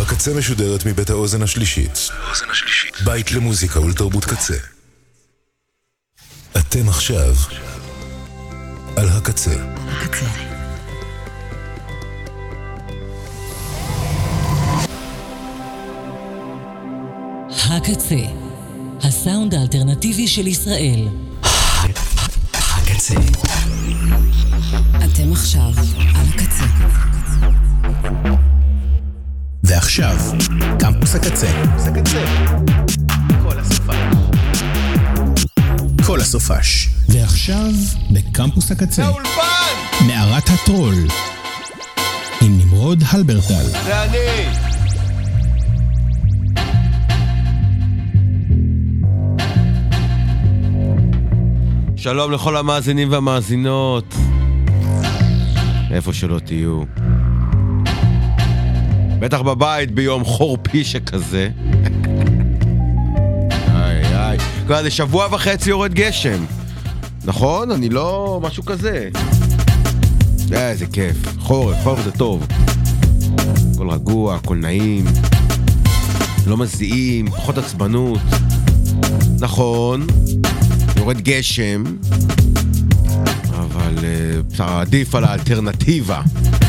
הקצה משודרת מבית האוזן השלישית. בית למוזיקה ולתרבות קצה. אתם עכשיו על הקצה. הקצה, הסאונד האלטרנטיבי של ישראל. הקצה. אתם עכשיו על הקצה. ועכשיו, קמפוס הקצה. כל הסופש. ועכשיו, בקמפוס הקצה. האולפן! מערת הטרול. עם נמרוד הלברטל. זה אני! שלום לכל המאזינים והמאזינות. איפה שלא תהיו. בטח בבית ביום חורפי שכזה. איי. כבר זה שבוע וחצי יורד גשם. נכון? אני לא משהו כזה. איזה כיף. חורף זה טוב. הכל רגוע, הכל נעים. לא מזיעים, פחות עצבנות. נכון. יורד גשם. אבל עדיף על האלטרנטיבה.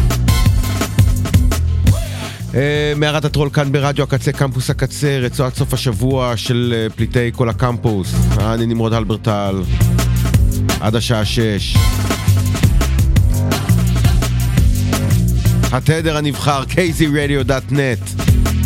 מערת הטרול כאן ברדיו הקצה, קמפוס הקצה, רצועת סוף השבוע של פליטי כל הקמפוס. אני נמרוד הלברטל, עד השעה 6. התדר הנבחר, kzradio.net.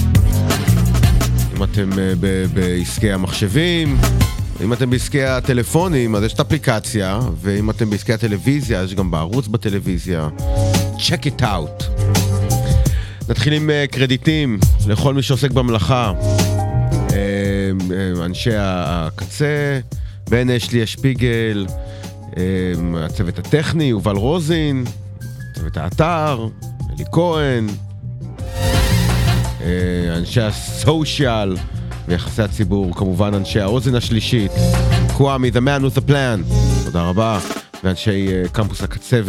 אם אתם בעסקי המחשבים, אם אתם בעסקי הטלפונים, אז יש את האפליקציה, ואם אתם בעסקי הטלוויזיה, יש גם בערוץ בטלוויזיה. Check it out. נתחיל עם קרדיטים לכל מי שעוסק במלאכה. אנשי הקצה, בן אשלי השפיגל, הצוות הטכני, יובל רוזין, צוות האתר, אלי כהן, אנשי הסושיאל ויחסי הציבור, כמובן אנשי האוזן השלישית, קוואמי, the man with the plan, תודה רבה, ואנשי קמפוס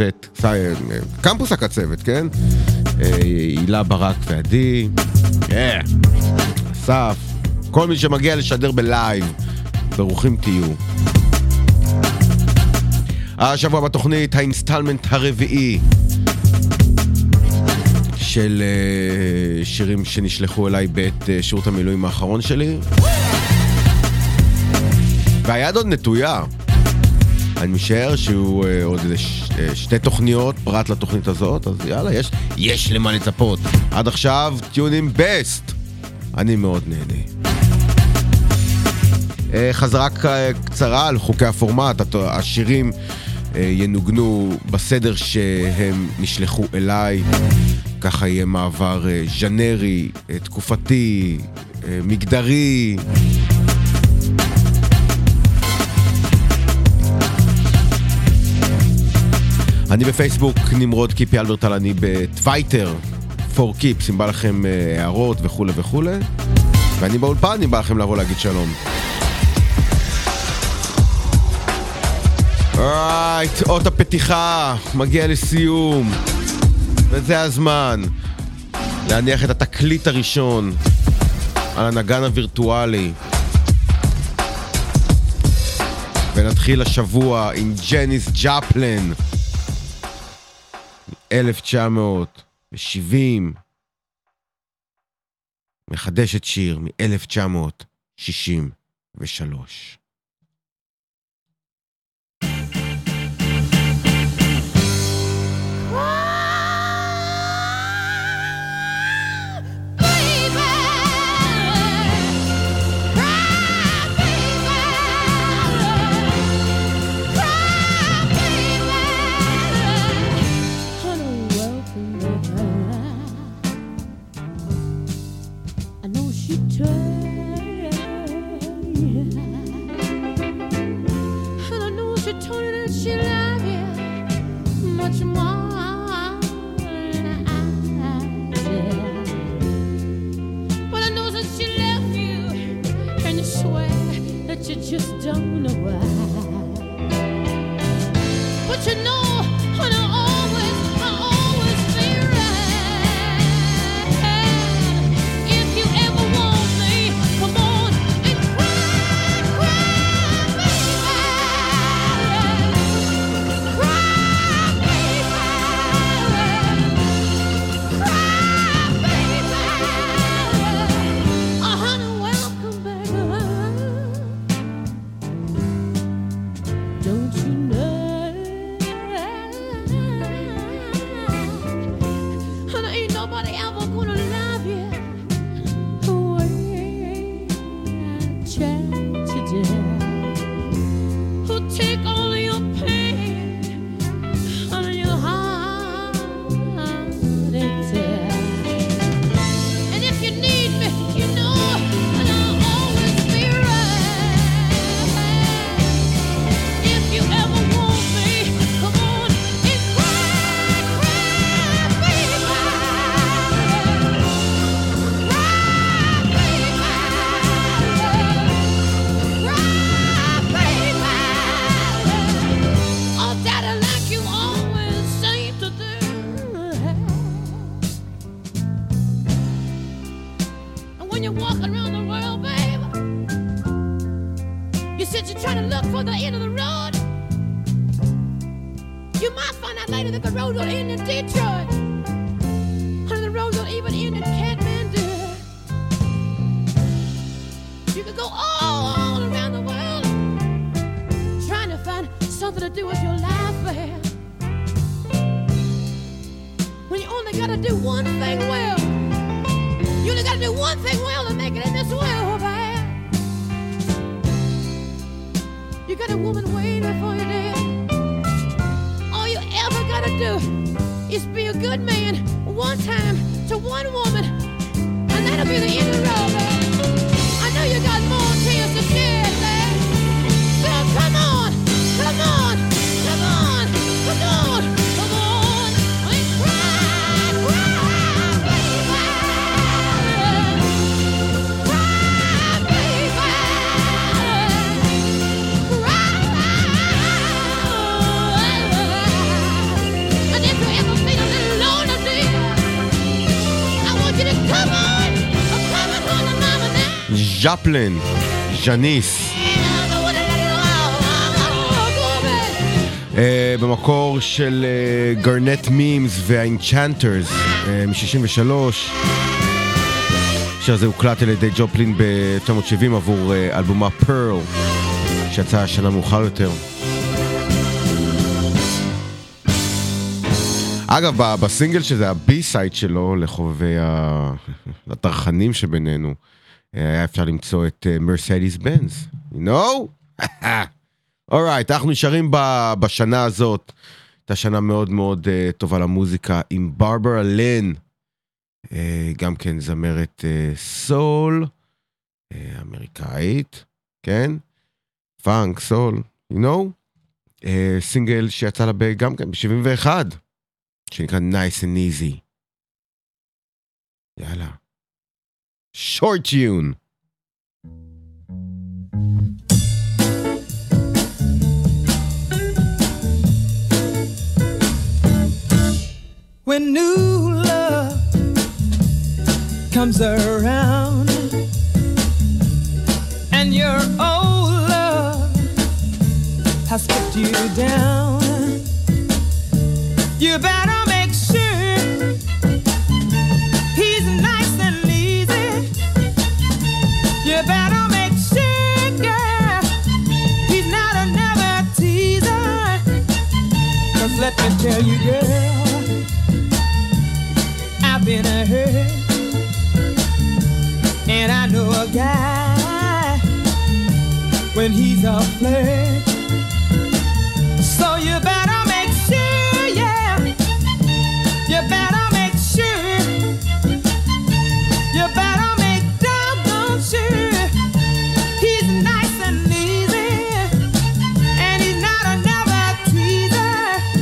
הקצוות, כן? הילה ברק ועדי, אסף, כל מי שמגיע לשדר בלייב, ברוכים תהיו. השבוע בתוכנית האינסטלמנט הרביעי של שירים שנשלחו אליי בעת שירות המילואים האחרון שלי, והיד עוד נטויה. אני משער שהוא עוד איזה שתי תוכניות פרט לתוכנית הזאת, אז יאללה, יש למה לצפות. עד עכשיו, טיונים בסט. אני מאוד נהנה. חזרה קצרה על חוקי הפורמט. השירים ינוגנו בסדר שהם נשלחו אליי. ככה יהיה מעבר ז'נרי, תקופתי, מגדרי. אני בפייסבוק נמרוד קיפי אלברטל, אני בטוויטר פור קיפס, אם בא לכם הערות וכו' וכו', ואני באולפן, אם בא לכם לבוא להגיד שלום. אורייט, אות הפתיחה מגיע לסיום, וזה הזמן להניח את התקליט הראשון על הנגן הווירטואלי, ונתחיל השבוע עם ג'ניס ג'פלין 1970, מחדשת שיר מ-1963. I know she tried. you're walking around the world, babe, you said you're trying to look for the end of the road. You might find out later that the road will end in Detroit. And the road will even end in Kathmandu. You could go all around the world trying to find something to do with your life, babe. When you only gotta do one thing well. You only gotta do one thing well to make it in this world, babe. You got a woman waiting for you there. All you ever gotta do is be a good man one time to one woman, and that'll be the end of the road, babe. I know you got more tears to shed, babe. So come on, come on, come on, come on, come on, and cry, baby. Cry, baby. And if you ever feel a little lonely, dear, I want you to come on home to mama now. ז'פלין, ז'ניס. במקור של גרנט מימס והאינצ'נטרס מ-63. השיר הזה הוקלט על ידי ג'ופלין ב-1970 עבור אלבומה פרל שיצא שנה מאוחר יותר. אגב, בסינגל שזה הבי-סייד שלו לחובבי התרחנים שבינינו, היה אפשר למצוא את מרסדיס בנז. You know? אורייט, אנחנו נשארים בשנה הזאת. הייתה שנה מאוד מאוד טובה למוזיקה עם ברברה לין, גם כן זמרת סול, אמריקאית, כן? פאנק, סול, you know? סינגל שיצא לה גם כן ב-71, שנקרא Nice and Easy. יאללה. Short tune. When new love comes around and your old love has put you down, you better make sure he's nice and easy. You better make sure, girl, he's not another teaser. 'Cause let me tell you, girl, been a hurt, and I know a guy when he's a flirt. So you better make sure, yeah, you better make sure, you better make doggone sure he's nice and easy, and he's not another teaser.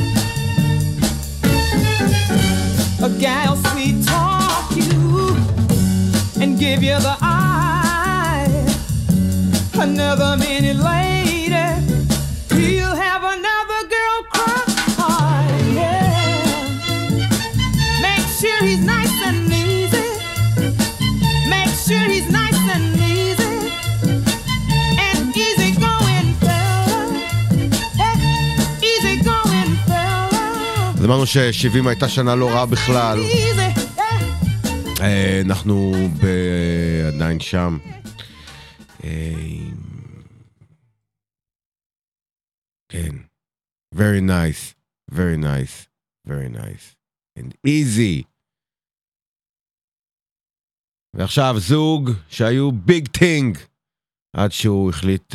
A gal sweet talk you and give you the eye. Another minute later, he'll have another girl cry. Yeah. Make sure he's nice and easy. Make sure he's nice and easy. And easy going fella. Easy going fella. אז אמרנו ש-70 הייתה שנה לא רעה בכלל. אנחנו עדיין שם. כן. Very nice. Very nice. Very nice. And easy. ועכשיו זוג שהיו ביג טינג עד שהוא החליט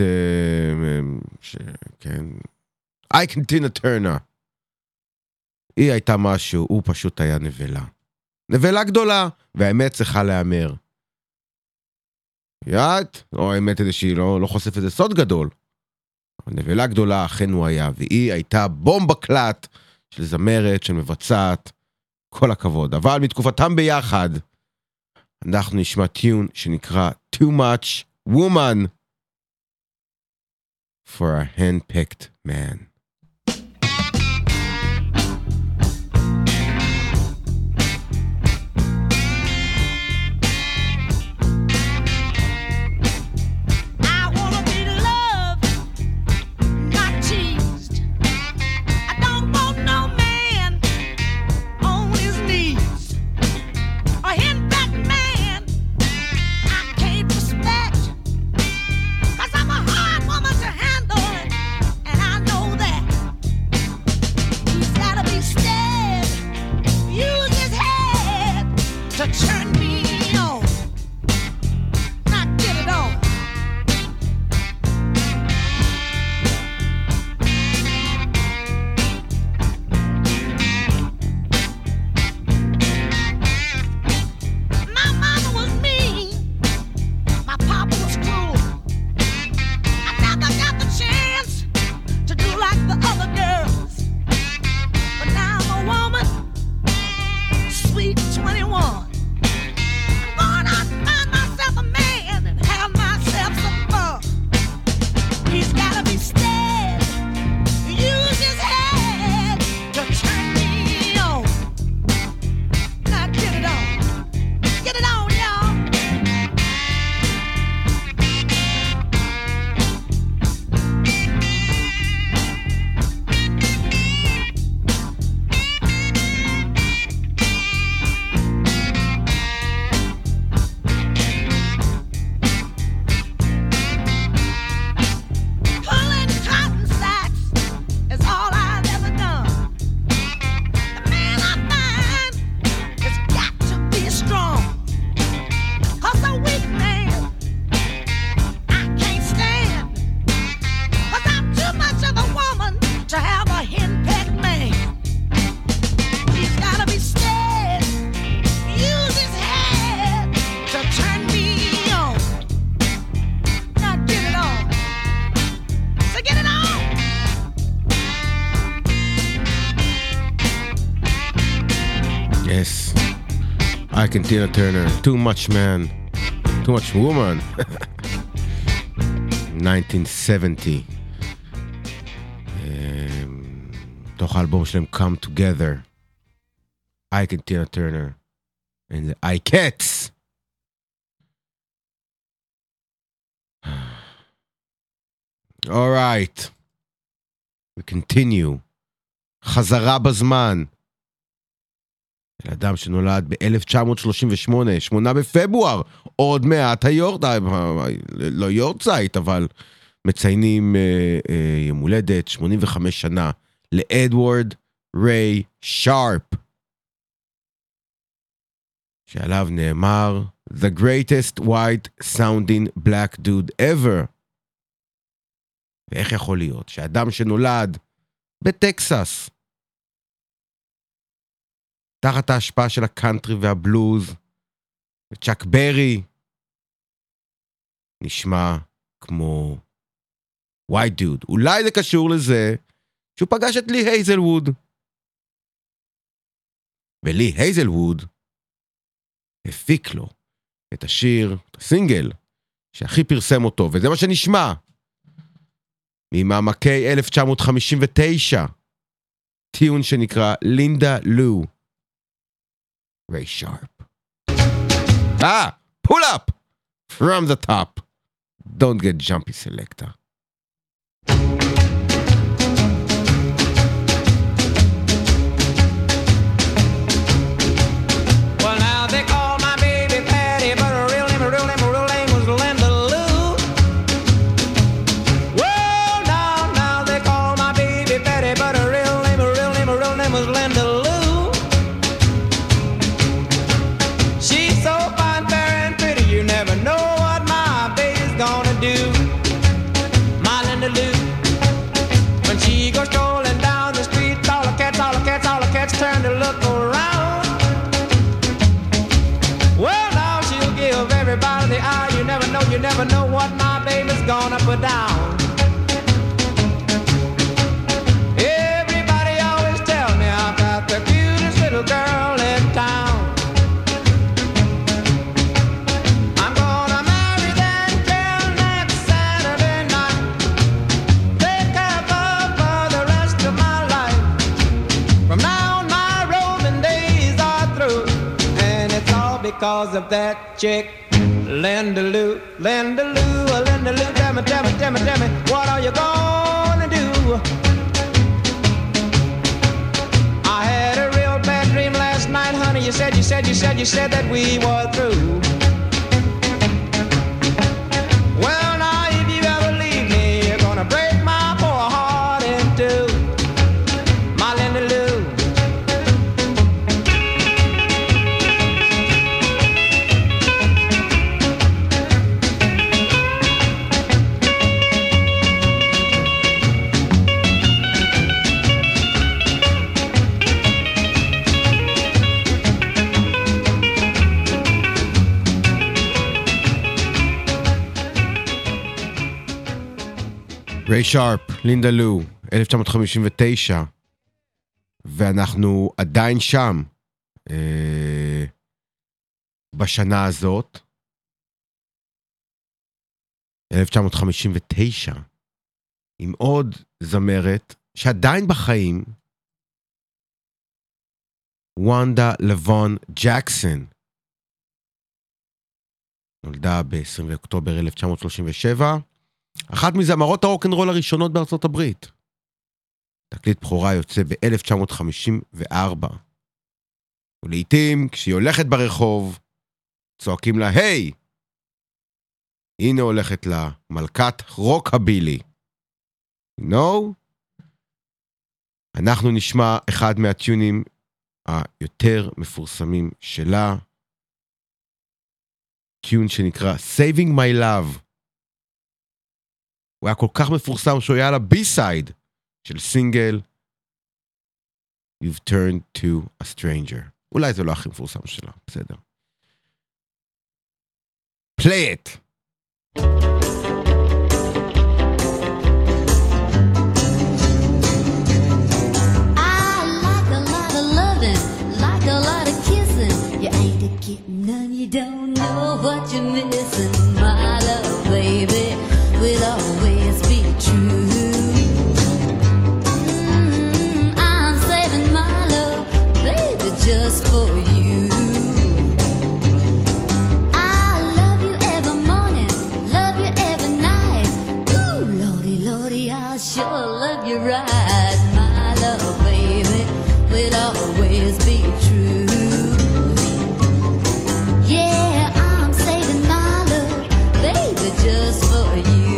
כן. אייקן טינה טרנר. היא הייתה משהו, הוא פשוט היה נבלה. נבלה גדולה, והאמת צריכה להיאמר. יעת? או האמת היא שהיא לא חושף איזה סוד גדול. נבלה גדולה, אכן הוא היה, והיא הייתה בומבה קלט של זמרת, של מבצעת, כל הכבוד. אבל מתקופתם ביחד, אנחנו נשמע טיון שנקרא Too Much Woman for a Hand-Picked Man. to turn me on. Not get it on. My mama was mean. My papa was cruel. I never got the chance to do like the other girls. But now I'm a woman, sweet 21. I'm going out and find myself a man and have myself some fun. He's gotta be steady, use his head to turn me on. Now get it on. Get it on, y'all. Pulling cotton sacks is all I've ever done. The man I find has got to be strong. 'Cause a weak man I can't stand. 'Cause I'm too much of a woman to have a henpecked man. He's gotta be steady, use his head to turn me on. Now get it on. So get it on. Yes. I can Tina Turner. Too much man. Too much woman. 1970. תוך האלבום שלהם Come Together. I can Tina Turner. And the I Cats. All right. We continue. חזרה בזמן. של אדם שנולד ב-1938, 8 בפברואר, עוד מעט לא יורצייט, אבל מציינים יום הולדת 85 שנה לאדוארד ריי שרפ, שעליו נאמר The greatest white sounding black dude ever. ואיך יכול להיות שאדם שנולד בטקסס, תחת ההשפעה של הקאנטרי והבלוז, וצ'אק ברי, נשמע כמו white dude. אולי זה קשור לזה שהוא פגש את לי הייזלווד. ולי הייזלווד הפיק לו את השיר, את הסינגל, שהכי פרסם אותו, וזה מה שנשמע ממעמקי 1959, טיון שנקרא לינדה לו. Ray Sharp. Pull up from the top. Don't get jumpy, selector. Well, now they call my baby Patty, but her real name was Linda Lou. Well, now they call my baby Patty, but her real name was Linda Lou. She's so fine, fair, and pretty, you never know what my baby's gonna do. My Linda Lou. When she goes strolling down the street, all the cats turn to look around. Well, now she'll give everybody the eye. You never know what my baby's gonna put down. Everybody always tell me I've got the cutest little girl in town. I'm gonna marry that girl next Saturday night. Take her for the rest of my life. From now on my roving days are through, and it's all because of that chick, Linda Lou. Linda Lou, Linda Lou, tell me, what are you gonna do? I had a real bad dream last night, honey. You said that we were through. Well, now if you ever leave me, you're gonna break my poor heart in two. My Linda Lou. ריי שרפ, לינדה לו, 1959, ואנחנו עדיין שם בשנה הזאת, 1959, עם עוד זמרת שעדיין בחיים, וונדה לבון ג'קסון, נולדה ב-20 באוקטובר 1937, אחת מזמרות הרוק'נ'רול הראשונות בארצות הברית. תקליט בכורה יוצא ב-1954. ולעיתים, כשהיא הולכת ברחוב, צועקים לה, היי! הנה הולכת לה מלכת רוקבילי. No? אנחנו נשמע אחד מהטיונים היותר מפורסמים שלה. טיון שנקרא Saving My Love. הוא היה כל כך מפורסם שהוא היה על הבי-סייד של סינגל You've Turned to a Stranger. אולי זה לא הכי מפורסם שלה, בסדר. Play it! None, you don't know what you're missing. My love, baby, will always be true. I'm saving my love, baby, just for you. I love you every morning, love you every night. Ooh, lordy, lordy, I sure love you right. My love, baby, will always be true. Just for you.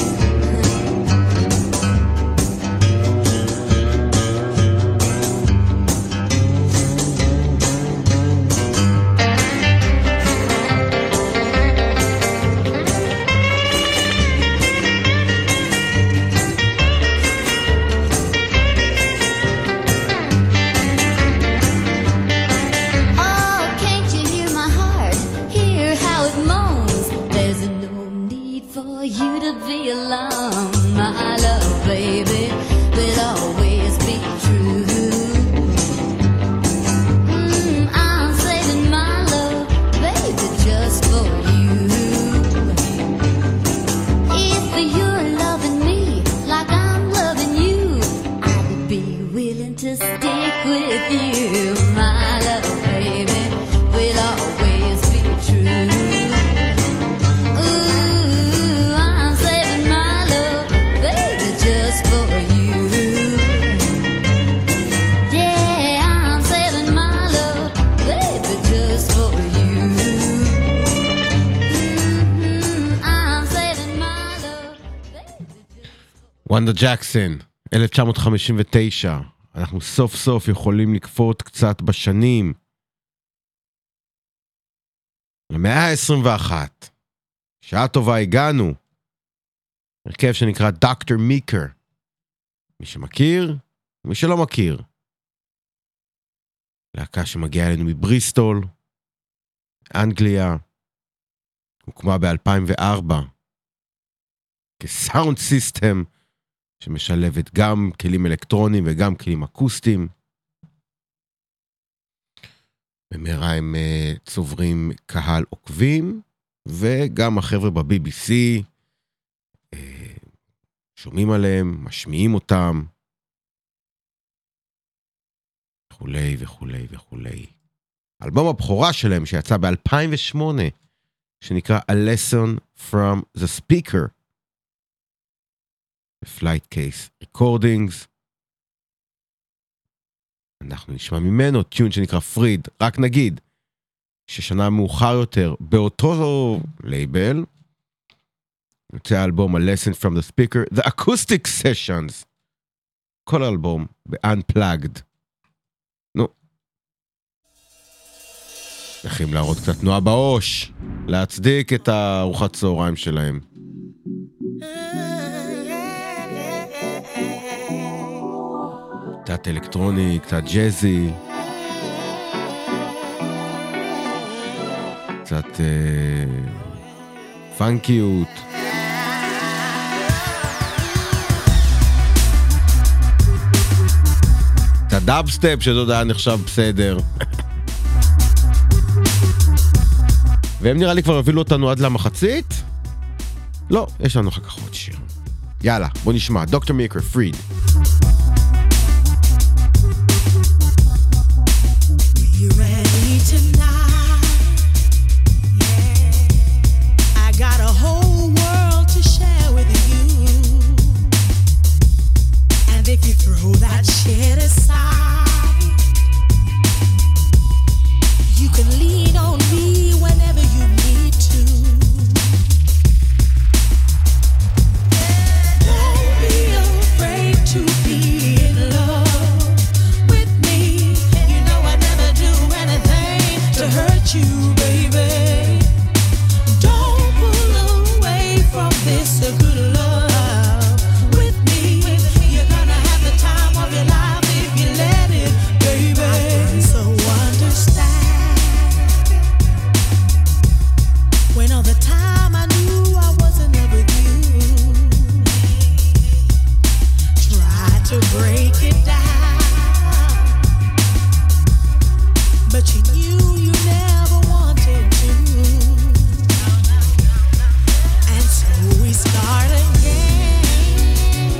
וונדה ג'קסון, 1959. אנחנו סוף סוף יכולים לקפוט קצת בשנים. למאה ה-21. שעה טובה הגענו. הרכב שנקרא דוקטור מיקר. מי שמכיר, מי שלא מכיר. להקה שמגיעה אלינו מבריסטול, אנגליה. הוקמה ב-2004. כסאונד סיסטם. שמשלבת גם כלים אלקטרונים וגם כלים אקוסטיים. במהרה הם צוברים קהל עוקבים, וגם החבר'ה ב-BBC שומעים עליהם, משמיעים אותם, וכולי וכולי וכולי. אלבום הבכורה שלהם שיצא ב-2008, שנקרא A Lesson from the Speaker, Flight Case Recordings. אנחנו נשמע ממנו טיון שנקרא פריד. רק נגיד ששנה מאוחר יותר באותו לייבל יוצא האלבום A Lesson from the Speaker, The Acoustic Sessions. כל האלבום ב-Unplugged. נו, צריכים להראות קצת תנועה באוש, להצדיק את הארוחת צהריים שלהם. קצת אלקטרוני, קצת ג'זי, קצת פאנקיות. הדאבסטפ, שזה עוד היה נחשב בסדר. והם נראה לי כבר הבילו אותנו עד למחצית? לא, יש לנו אחר כך עוד שיר. יאללה, בוא נשמע, דוקטור מיקר, פריד. Got a whole world to share with you. And if you throw that shit aside, you can lean on me whenever you need to. Don't be afraid to be in love with me. You know I never do anything to hurt you, baby. From this a good love with me, you're gonna have the time of your life if you let it, baby. So understand, when all the time I knew I wasn't ever with you, tried to break it down, but you knew you never wanted to. We start again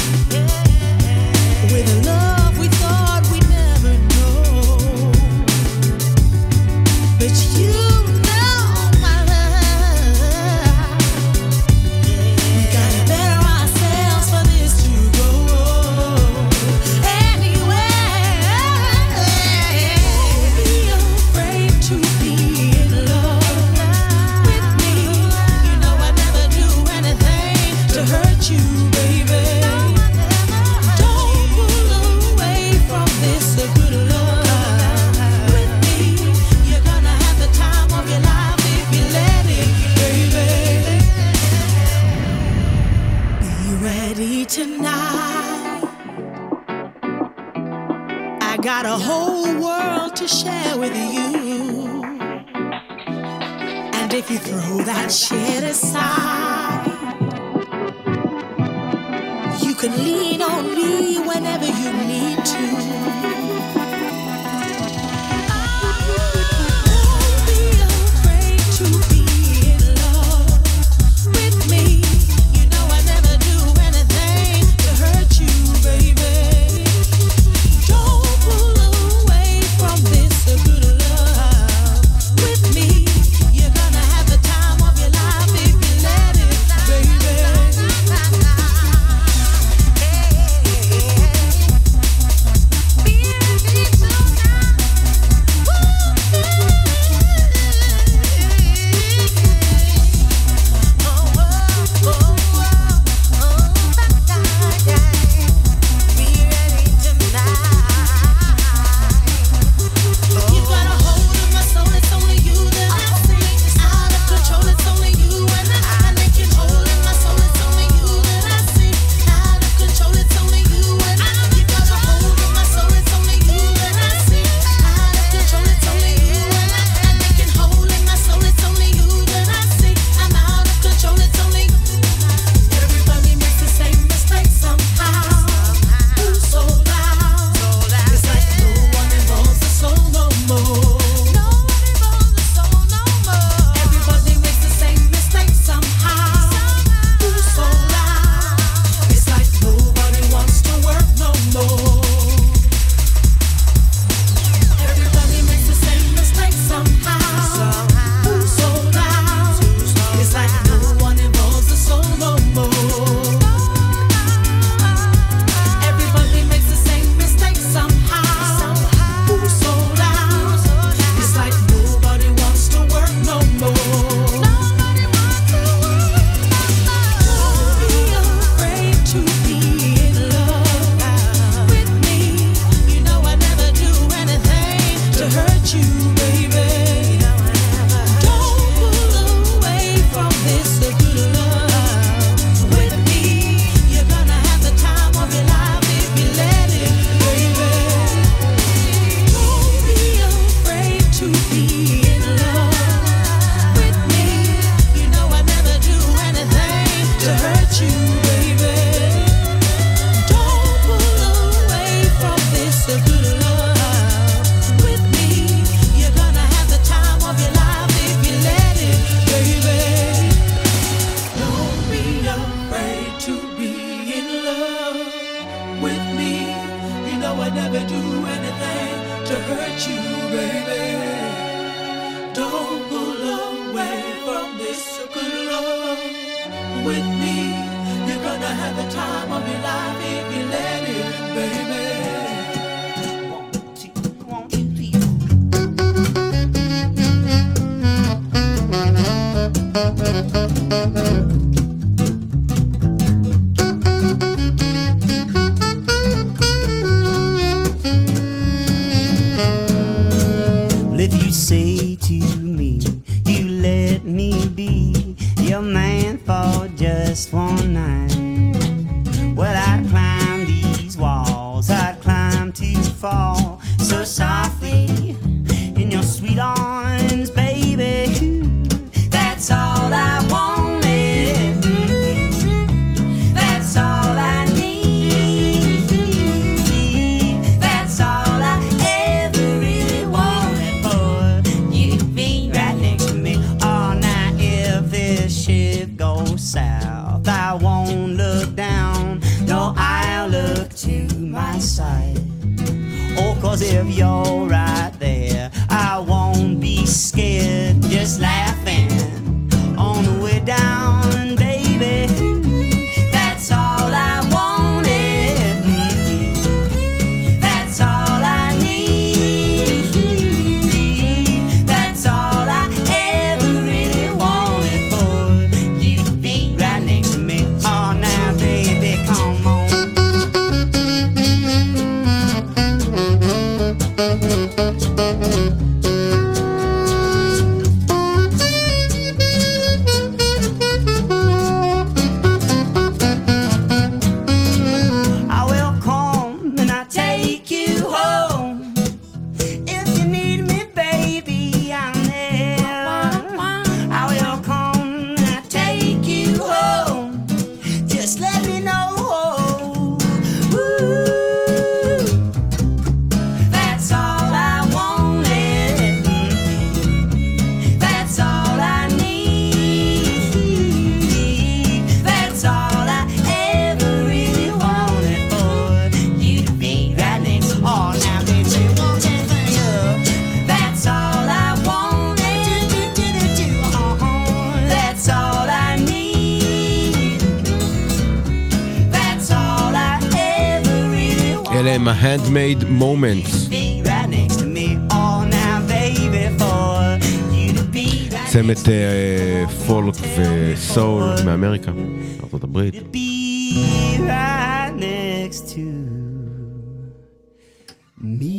with a love we thought we'd never know, but you know my love, we gotta better ourselves for this to go anywhere. Don't be afraid to be in love with me. You know I never do anything to hurt you, baby. Don't pull away from this a good love with me. You're gonna have the time of your life if you let it, baby. Be ready tonight. I got a whole world to share with you. And if you throw that shit aside, you can lean on me whenever you need to. Don't be afraid to be in love with me. You know I never do anything to hurt you, baby. Don't pull away from this a good love with me. You're gonna have the time of your life if you let it, baby. so good. with me. You're gonna have the time of your life if you let it, baby. If you say to me, you let me be your man for just one night, well, I'd climb these walls, I'd climb to fall so softly in your sweet arms, baby. That's all I wanted. That's all I need. That's all I ever really wanted for you to be right next to me. Oh, now if this ship goes south, I won't look down, no, I'll look to my side. Oh, 'cause if you're right there, I won't be scared, just laughing on the way down, baby. That's all I wanted. That's all I need. That's all I ever really wanted for you to be right next to me. Oh, now, baby, come on. I will come and I'll take you home. If you need me, baby, I'm there. I will come and I'll take you home. Just let me know. Ooh, that's all I wanted. That's all I need. That's all I ever really wanted for you to be right next. Oh, now baby, won't you hang up? That's all I wanted. That's all I need. That's all I ever really wanted. אלה הם ה-handmade moments. Be right next to me. Oh, now baby, for you to be right צמד פולק וסול מאמריקה, ארצות הברית. be right next to me.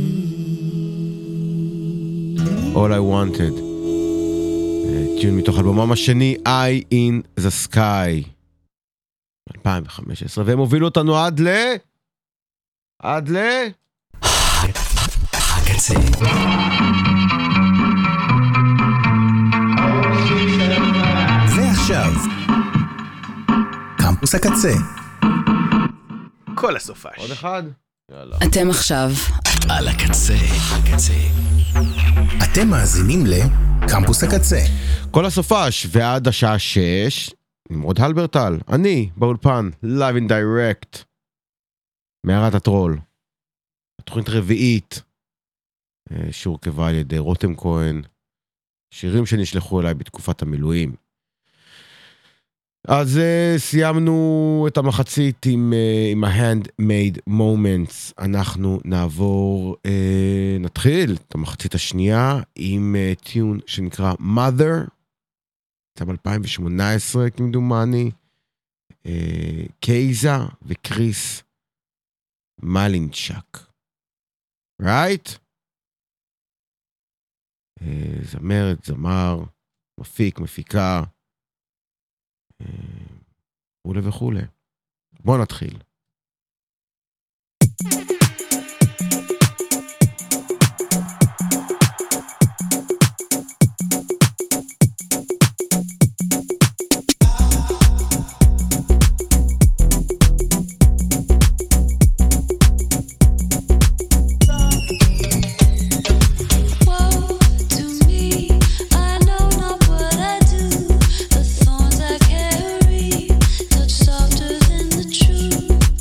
All I Wanted. טיון מתוך אלבומם השני, Eye in the Sky. 2015, והם הובילו אותנו עד הקצה. ועכשיו, קמפוס הקצה. כל הסופש. עוד אחד? יאללה. אתם עכשיו על הקצה. אתם מאזינים לקמפוס הקצה. כל הסופש, ועד השעה 6, נמרוד הלברטל, אני באולפן, live and direct, מערת הטרול. התוכנית רביעית, שהורכבה על ידי רותם כהן, שירים שנשלחו אליי בתקופת המילואים. אז סיימנו את המחצית עם ה-handmade moments. אנחנו נתחיל את המחצית השנייה עם טיון שנקרא Mother, צם 2018 כמדומני, קייזה וקריס מלינצ'ק. right? זמרת, זמר, מפיק, מפיקה, וכו' וכו'. בואו נתחיל. Softer than the truth.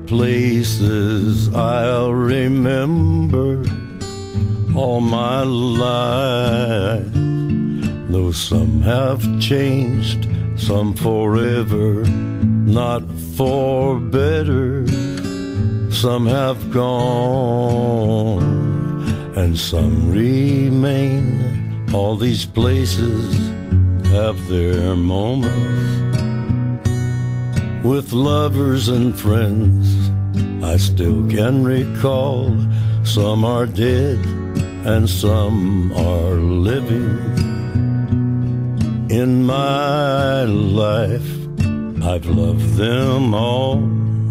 places I'll remember all my life. Though some have changed, some forever, not for better. Some have gone, and some remain. All these places have their moments. With lovers and friends, I still can recall. Some are dead, and some are living. In my life, I've loved them all.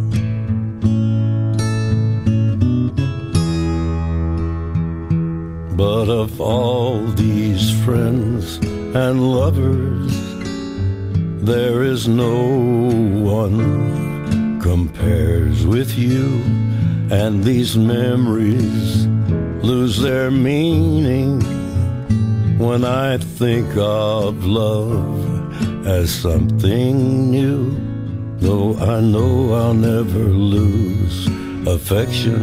But of all these friends and lovers, there is no one compares with you. And these memories lose their meaning when I think of love as something new. Though I know I'll never lose affection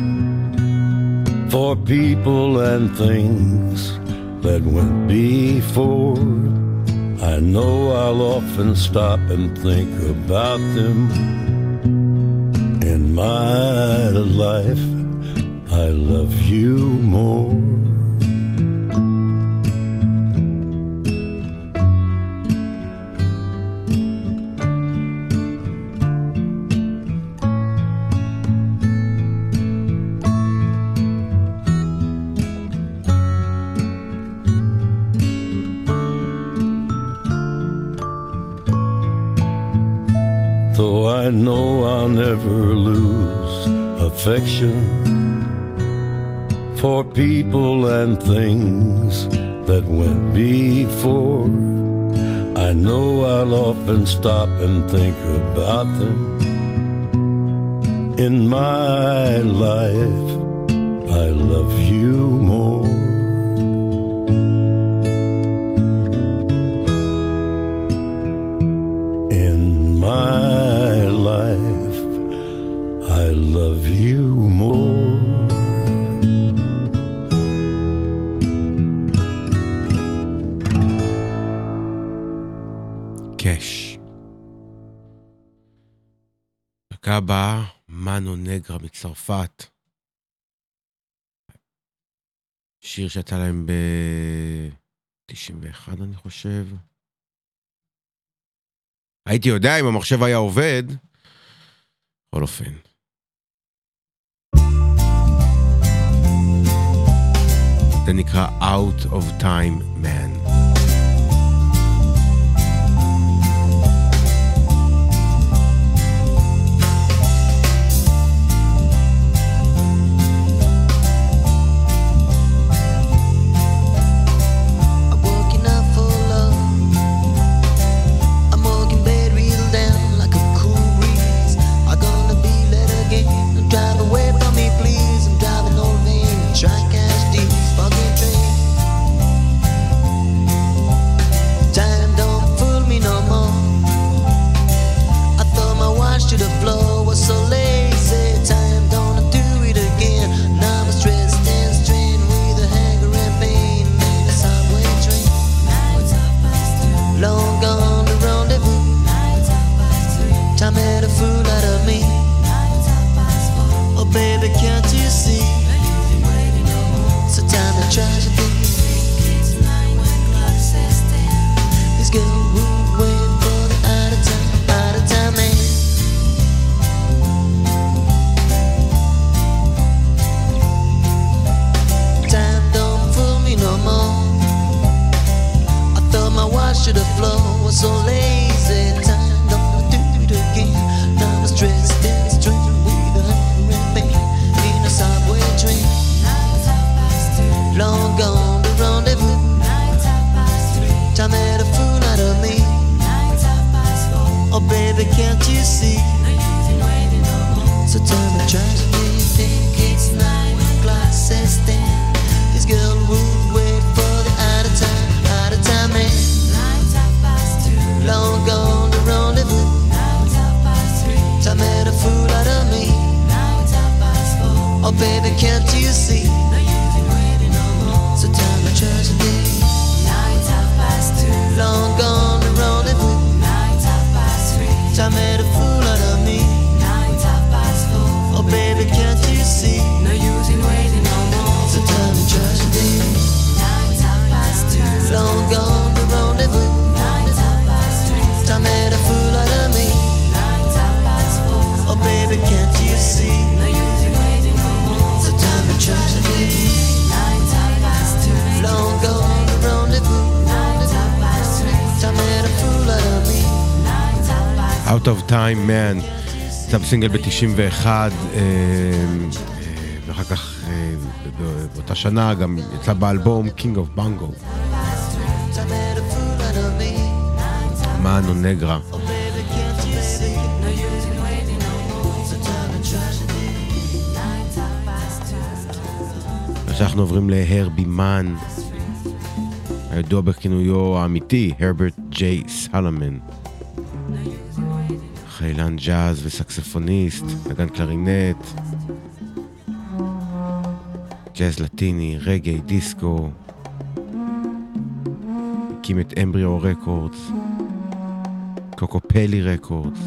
for people and things that went before. I know I'll often stop and think about them. In my life, I love you more. Though I know I'll never lose affection for people and things that went before. I know I'll often stop and think about them. In my life, I love you more. In my life, I love you more. קש. דקה הבאה, מנו נגרה מצרפת. שיר שיצא להם ב-91 אני חושב. הייתי יודע אם המחשב היה עובד. בכל אופן. זה נקרא Out of Time Man. Time made a fool out of me. Out of Time Man, יצא בסינגל ב-91, ואחר כך באותה שנה גם יצא באלבום King of Bongo. מאנו נגרה. עכשיו אנחנו עוברים להרבי מן, הידוע בכינויו האמיתי, הרברט ג'יי סלמן. חיילן ג'אז וסקספוניסט, נגן קלרינט, ג'אז לטיני, רגעי, דיסקו. הקים את אמבריו רקורדס, קוקופלי רקורדס,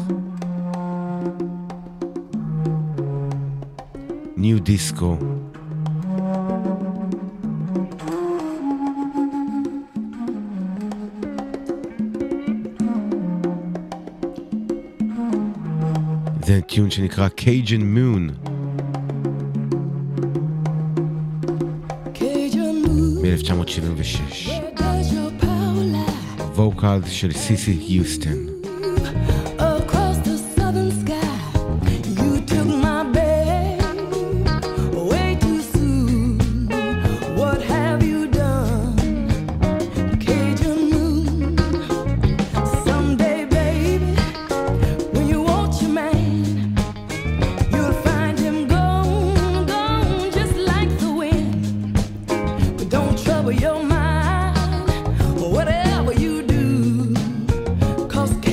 ניו דיסקו. זה טיון שנקרא Cajun Moon מ-1976, ווקל של סיסי היוסטון. Your mind, whatever you do, 'cause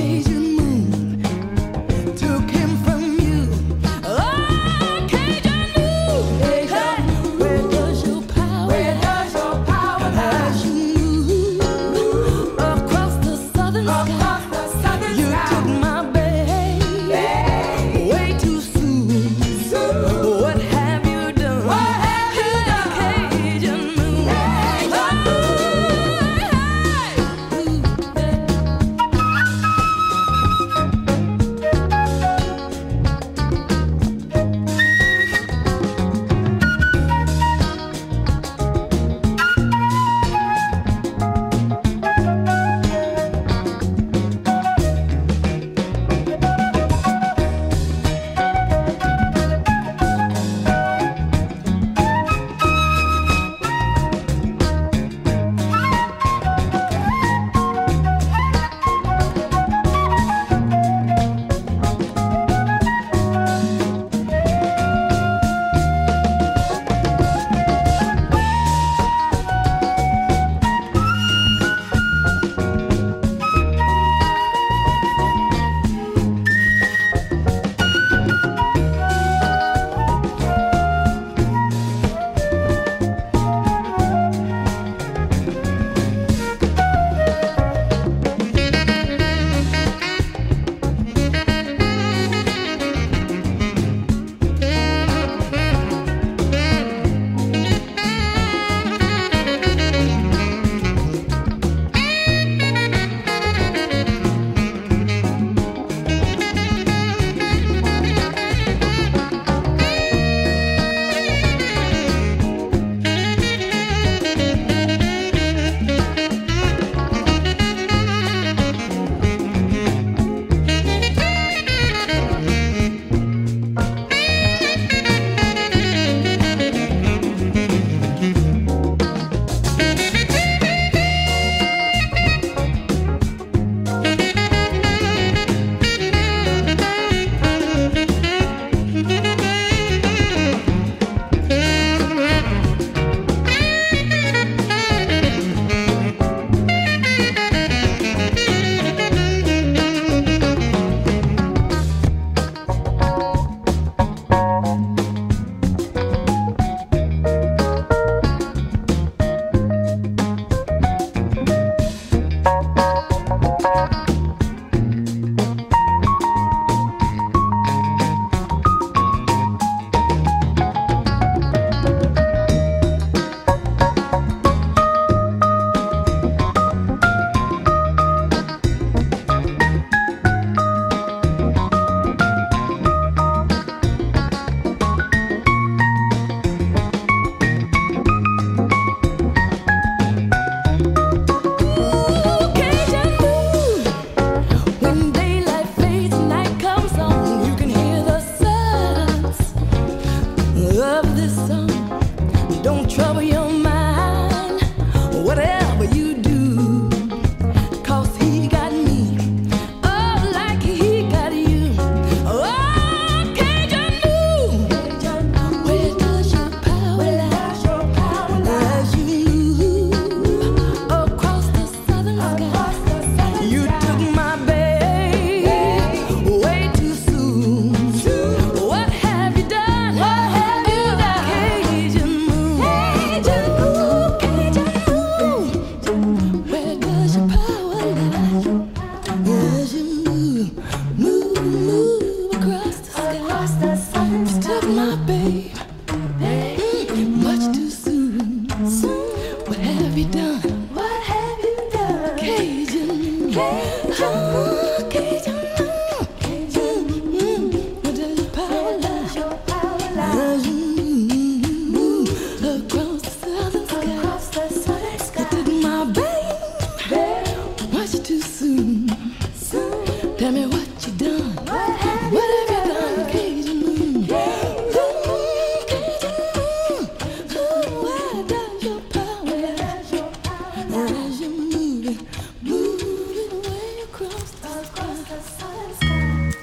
Tell me what you done. What have you done, Cajun Moon? Cajun Moon. Where does your power lie? As you move it away across the southern sky.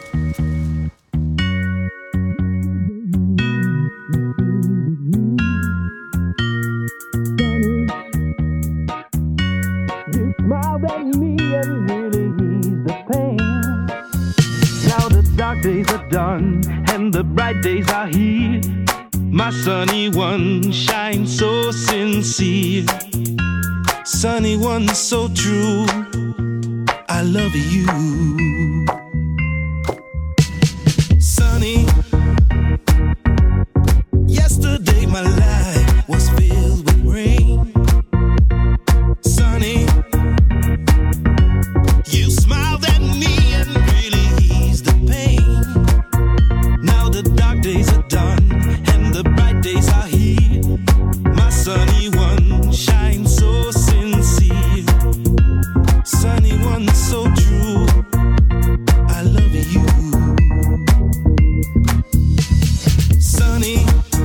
You smiled at me and really eased the pain. Now the dark days are done and the bright days are here. My sunny one shines so sincere. Sunny one so true. I love you. Sunny. Yesterday my life was filled with rain. Sunny. You smiled at me and really eased the pain. Now the dark days are done and the bright days are here. My sunny one shines so sincere. Sunny one so true. I love you. Sunny.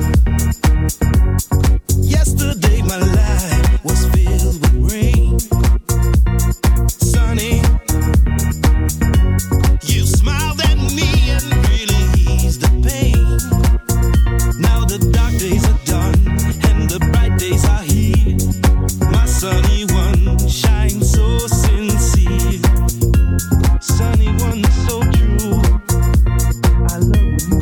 Yesterday my life was filled with rain. Sunny. You smiled at me and really eased the pain. Now the dark days are done and the bright days are here. My sunny one shines so sincere. Sunny one so true. I love you.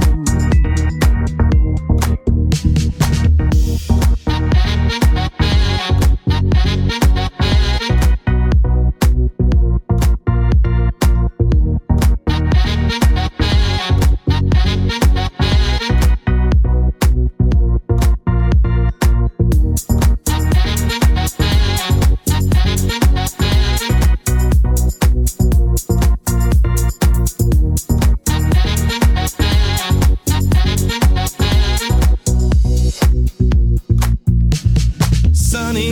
Sunny.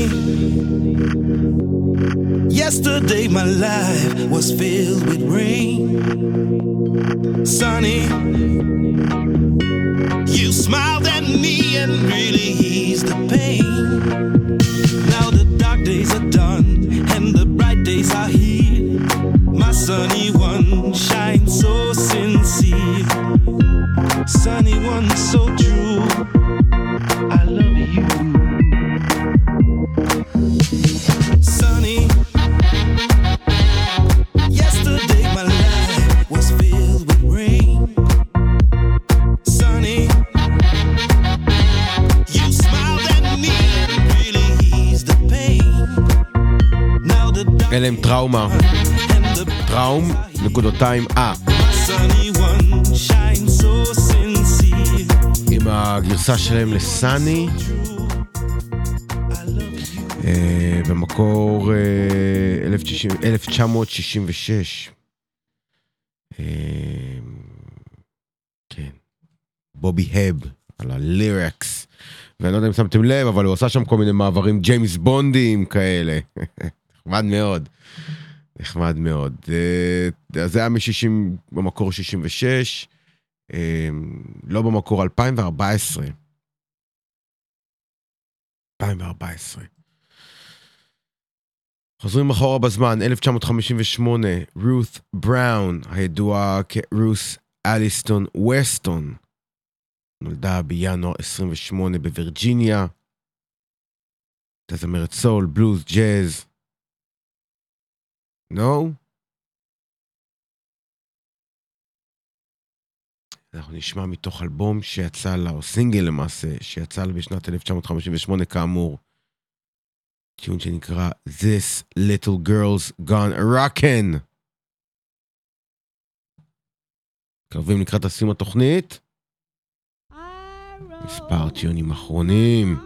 Yesterday my life was filled with rain. Sunny. You smiled at me and really eased the pain. Now the dark days are done and the bright days are here. My sunny one shines so sincere. Sunny one so true. I love you. Sunny. Yesterday my life was filled with rain. Sunny. You smiled at me and really eased the pain. Now the dark אלה הם טראומה. and the טראום, נקודותיים sunny one shines so sincere. עם הגרסה שלהם לסני. במקור 1966. כן. בובי הב על הלירקס. ואני לא יודע אם שמתם לב, אבל הוא עושה שם כל מיני מעברים ג'יימס בונדים כאלה. נחמד מאוד. נחמד מאוד. אז זה היה מ-60, במקור 66. לא במקור 2014. 2014. חוזרים אחורה בזמן, 1958, רות בראון, הידועה כרוס אליסטון ווסטון, נולדה בינואר 28 בווירג'יניה, תזמרת סול, בלוז, ג'אז. נו? אנחנו נשמע מתוך אלבום שיצא לה, או סינגל למעשה, שיצא לה בשנת 1958 כאמור, טיון שנקרא This Little Girl's Gone Rockin'. קרבים לקראת הסיום התוכנית. מספר טיונים אחרונים.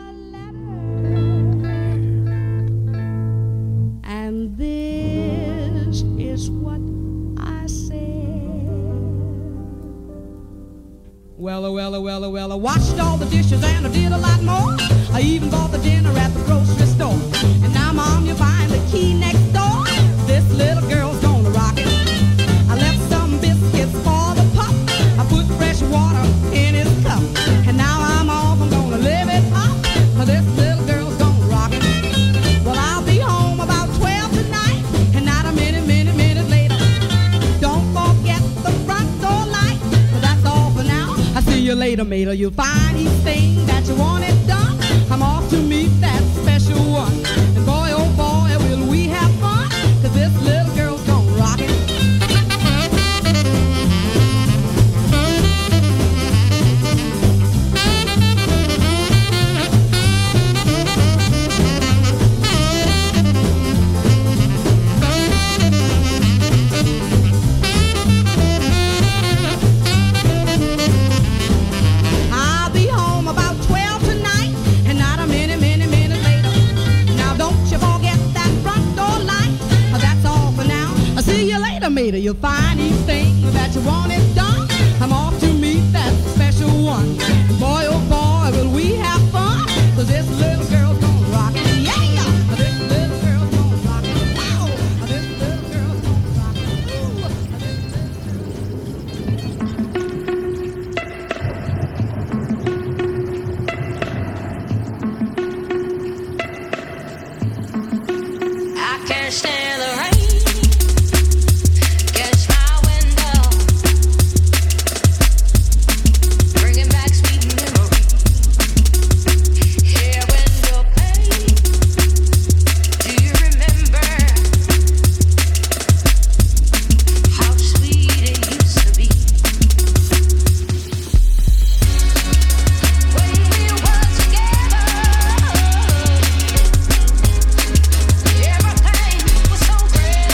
And this Well, I washed all the dishes and I did a lot more. I even bought the dinner at the grocery store. And now, Mom, you're buying the key next door. This little girl's gonna rock it. I left some biscuits for the pup. I put fresh water in his cup. And now I'm off, I'm gonna live it up. This little girl's gonna rock it. Well, I'll be home about 12 tonight. And not a minute later. Don't forget the front door light. But that's all for now. I'll see you later, mater. You'll find each thing that you wanted done. I'm off to meet that special one. And boy, oh boy, will we have fun. 'Cause this little girl's gonna rock it. I'll be home about 12 tonight, and not a minute later. Now don't you forget that front door light. That's all for now. I'll see you later, mater. You'll find each thing that you wanted done. I'm off to meet that special one. Boy, oh boy, will we have fun. 'Cause this little girl's gonna rock it. Yeah! This little girl's gonna rock it. Wow! This little girl's gonna rock it. Ooh! I can't stand the rain against my window, bringing back sweet memories. Here when you're paid, do you remember how sweet it used to be? When we were together, everything was so great.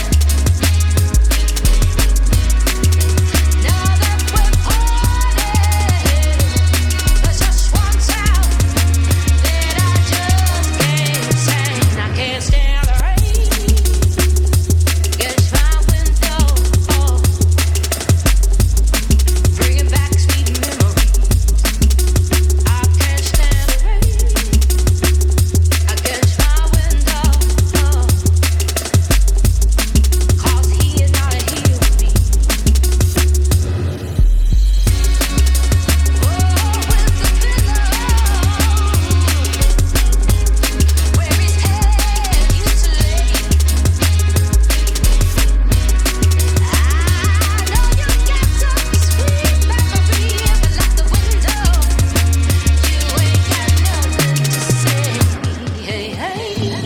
Now that we're parted, there's just one sound that I just can't stand. I can't stand the rain against my window, bringing back sweet memories. I can't stand the rain against my window, 'cause he is not here with me. Oh, with the pillow where his head used to lay. I know you got some sweet memory, but like the window, you ain't got nothing to say. Hey, hey.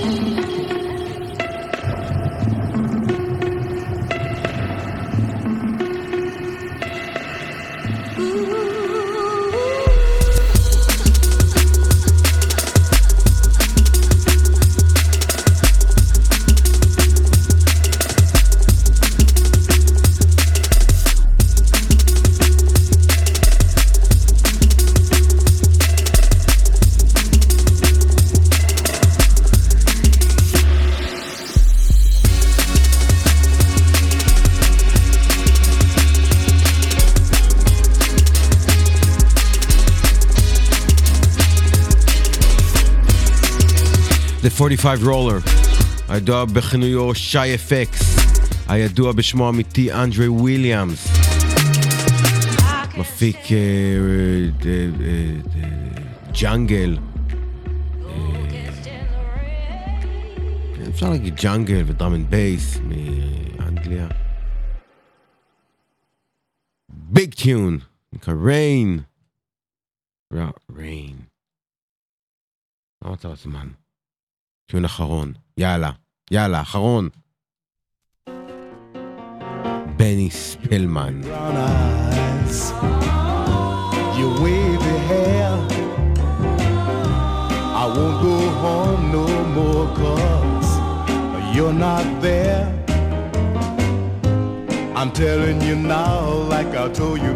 The 45 Roller, הידוע בכינויו שי אפקס, הידוע בשמו האמיתי אנדרי וויליאמס, מפיק ג'אנגל, אפשר להגיד ג'אנגל ודראם אנד בייס מאנגליה. ביג טיון, נקרא ריין. ריין. לא רוצה זמן. טיון אחרון. יאללה, אחרון. בני ספלמן. Brown eyes, your wavy hair. I won't go home no more 'cause you're not there. I'm telling you now like I told you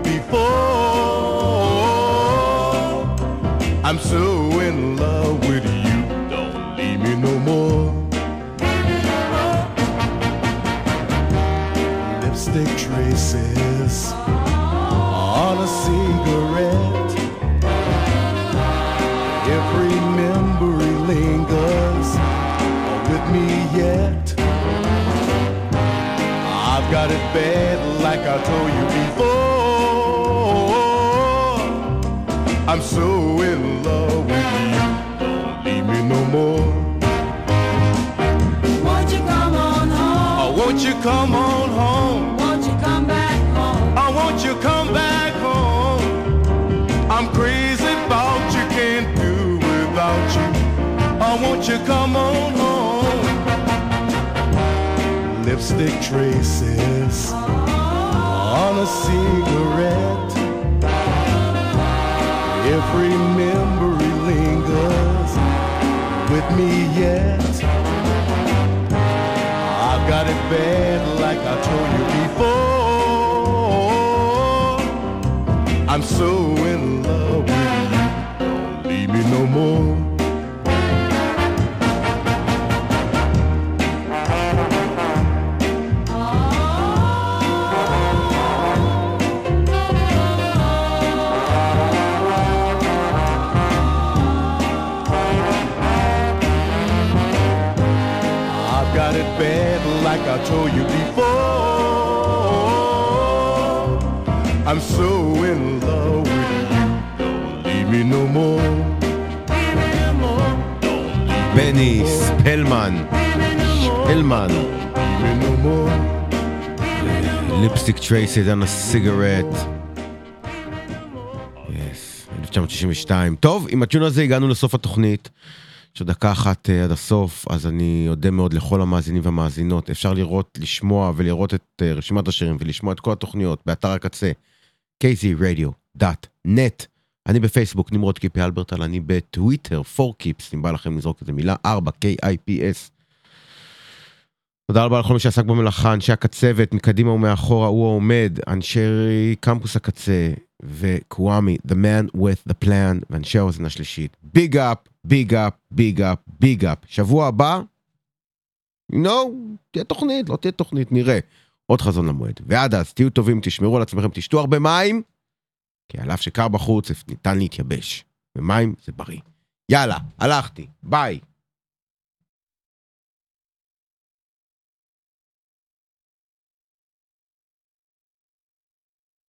before. I'm so in love with you. Don't leave me no more. Lipstick traces on on a cigarette. Every memory lingers with me yet. I've got it bad like I told you before. I'm so in love with you, don't leave me no more. Won't you come on home? Oh, won't you come on home? Won't you come back home? Oh, won't you come back home? I'm crazy about you, can't do without you. Oh, won't you come on home? Lipstick traces on a cigarette. Every memory lingers with me yet. I've got it bad like I told you before. I'm so in love with you, don't leave me no more. Got it bad like I told you before. I'm so in love with you, don't leave me no more. Leave me no more. בני ספלמן. ספלמן. Leave me no more. ליפסטיק טרייסד on a cigarette. Yes, 1962. טוב, עם הטיון הזה הגענו לסוף התוכנית. יש עוד דקה אחת עד הסוף, אז אני יודע מאוד לכל המאזינים והמאזינות. אפשר לראות, לשמוע ולראות את רשימת השירים ולשמוע את כל התוכניות באתר הקצה kzradio.net. אני בפייסבוק נמרוד קיפי אלברטל, אני בטוויטר 4kips, אם בא לכם לזרוק את המילה 4 KIPS. תודה רבה לכל מי שעסק במלאכה, אנשי הקצבת מקדימה ומאחורה, הוא העומד, אנשי קמפוס הקצה וקוואמי, the man with the plan, ואנשי האוזן השלישית. ביג אפ, ביג אפ, ביג אפ, ביג אפ. שבוע הבא, תהיה תוכנית, לא תהיה תוכנית, נראה. עוד חזון למועד. ועד אז, תהיו טובים, תשמרו על עצמכם, תשתו הרבה מים, כי על אף שקר בחוץ, ניתן להתייבש. ומים זה בריא. יאללה, הלכתי, ביי.